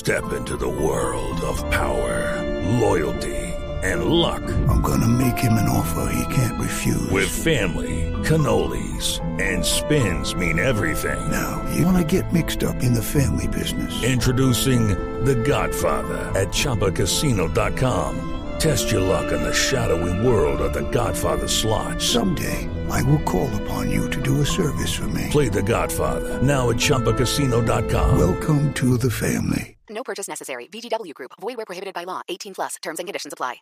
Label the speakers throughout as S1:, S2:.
S1: Step into the world of power, loyalty, and luck.
S2: I'm gonna make him an offer he can't refuse.
S1: With family, cannolis, and spins mean everything.
S2: Now, you wanna get mixed up in the family business.
S1: Introducing The Godfather at ChumbaCasino.com. Test your luck in the shadowy world of The Godfather slot.
S2: Someday, I will call upon you to do a service for me.
S1: Play The Godfather now at ChumbaCasino.com.
S2: Welcome to the family.
S3: No purchase necessary. VGW Group. Void where prohibited by law. 18+. Terms and conditions apply.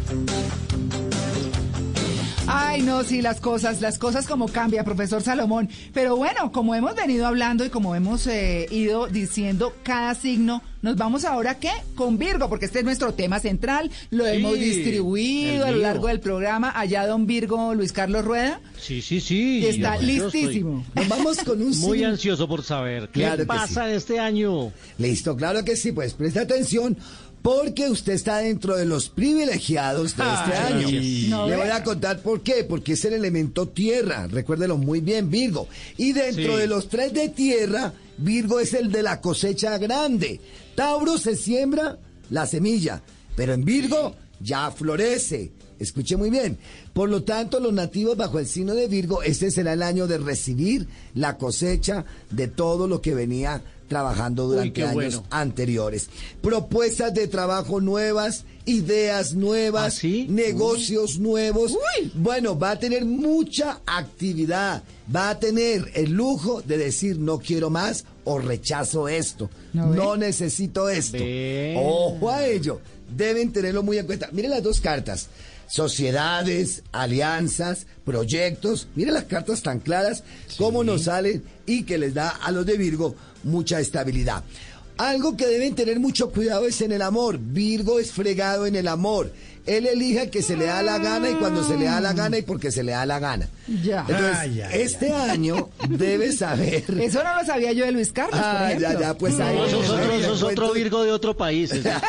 S4: Ay, no, sí, las cosas como cambia, profesor Salomón. Pero bueno, como hemos venido hablando y como hemos ido diciendo cada signo, nos vamos ahora, ¿qué? Con Virgo, porque este es nuestro tema central. Lo hemos distribuido a lo largo del programa. Allá don Virgo, Luis Carlos Rueda.
S5: Sí.
S4: Está listísimo.
S6: Nos vamos con un
S5: Muy
S6: signo.
S5: ansioso por saber
S6: Claro
S5: qué
S6: que
S5: pasa este año.
S6: Listo, claro que sí, pues presta atención. Porque usted está dentro de los privilegiados de este año.
S4: No,
S6: Le voy a contar por qué. Porque es el elemento tierra. Recuérdelo muy bien, Virgo. Y dentro de los 3 de tierra, Virgo es el de la cosecha grande. Tauro se siembra la semilla, pero en Virgo ya florece. Escuche muy bien. Por lo tanto, los nativos bajo el signo de Virgo, este será el año de recibir la cosecha de todo lo que venía trabajando durante años anteriores. Propuestas de trabajo nuevas, ideas nuevas, negocios nuevos. Bueno, va a tener mucha actividad. Va a tener el lujo de decir no quiero más o rechazo esto. No necesito esto. Ojo a ello. Deben tenerlo muy en cuenta. Miren las 2 cartas. Sociedades, alianzas, proyectos. Miren las cartas tan claras, cómo nos salen y que les da a los de Virgo mucha estabilidad. Algo que deben tener mucho cuidado es en el amor. Virgo es fregado en el amor. Él elige que se le da la gana y cuando se le da la gana y porque se le da la gana.
S4: Ya.
S6: Entonces, este año debe saber...
S4: Eso no lo sabía yo de Luis Carlos, por ejemplo.
S6: Pues ahí...
S5: Eso es otro Virgo de otro país.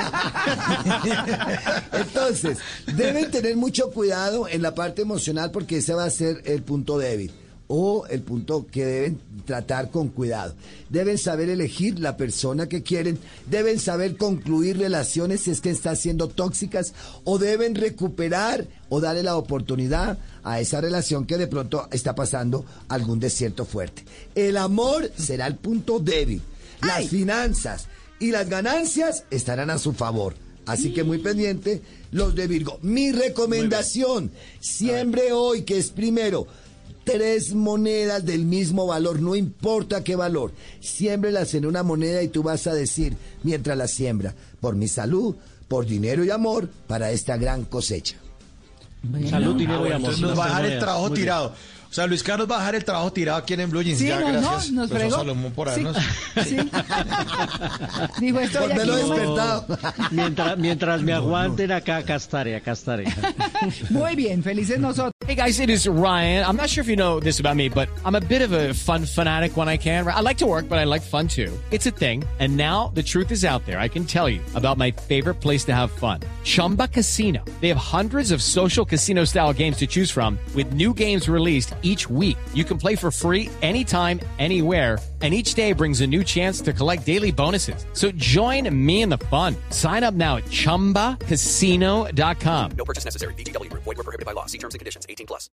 S6: Entonces, deben tener mucho cuidado en la parte emocional porque ese va a ser el punto débil o el punto que deben tratar con cuidado. Deben saber elegir la persona que quieren, deben saber concluir relaciones si es que están siendo tóxicas o deben recuperar o darle la oportunidad a esa relación que de pronto está pasando algún desierto fuerte. El amor será el punto débil. Las finanzas y las ganancias estarán a su favor. Así que muy pendiente los de Virgo. Mi recomendación, siembre hoy, que es primero, 3 monedas del mismo valor, no importa qué valor. Siémbrelas en una moneda y tú vas a decir, mientras la siembra, por mi salud, por dinero y amor, para esta gran cosecha.
S5: Salud, dinero y amor.
S7: Entonces nos va a dejar el trabajo tirado. O sea, Luis Carlos va a dejar el trabajo tirado aquí en Blue Jeans.
S4: Sí,
S7: ya, gracias,
S4: nos
S7: profesor
S4: fregó.
S7: Salomón, por habernos...
S4: Sí. Dijo, estoy aquí.
S6: Volvelo despertado.
S5: Mientras me aguanten acá estaré.
S4: Muy bien, felices nosotros.
S8: Hey guys, it is Ryan. I'm not sure if you know this about me, but I'm a bit of a fun fanatic when I can. I like to work, but I like fun too. It's a thing. And now the truth is out there. I can tell you about my favorite place to have fun. Chumba Casino. They have hundreds of social casino style games to choose from with new games released each week. You can play for free anytime, anywhere. And each day brings a new chance to collect daily bonuses. So join me in the fun. Sign up now at ChumbaCasino.com.
S3: No purchase necessary. VGW Group. Void where prohibited by law. See terms and conditions. 18+.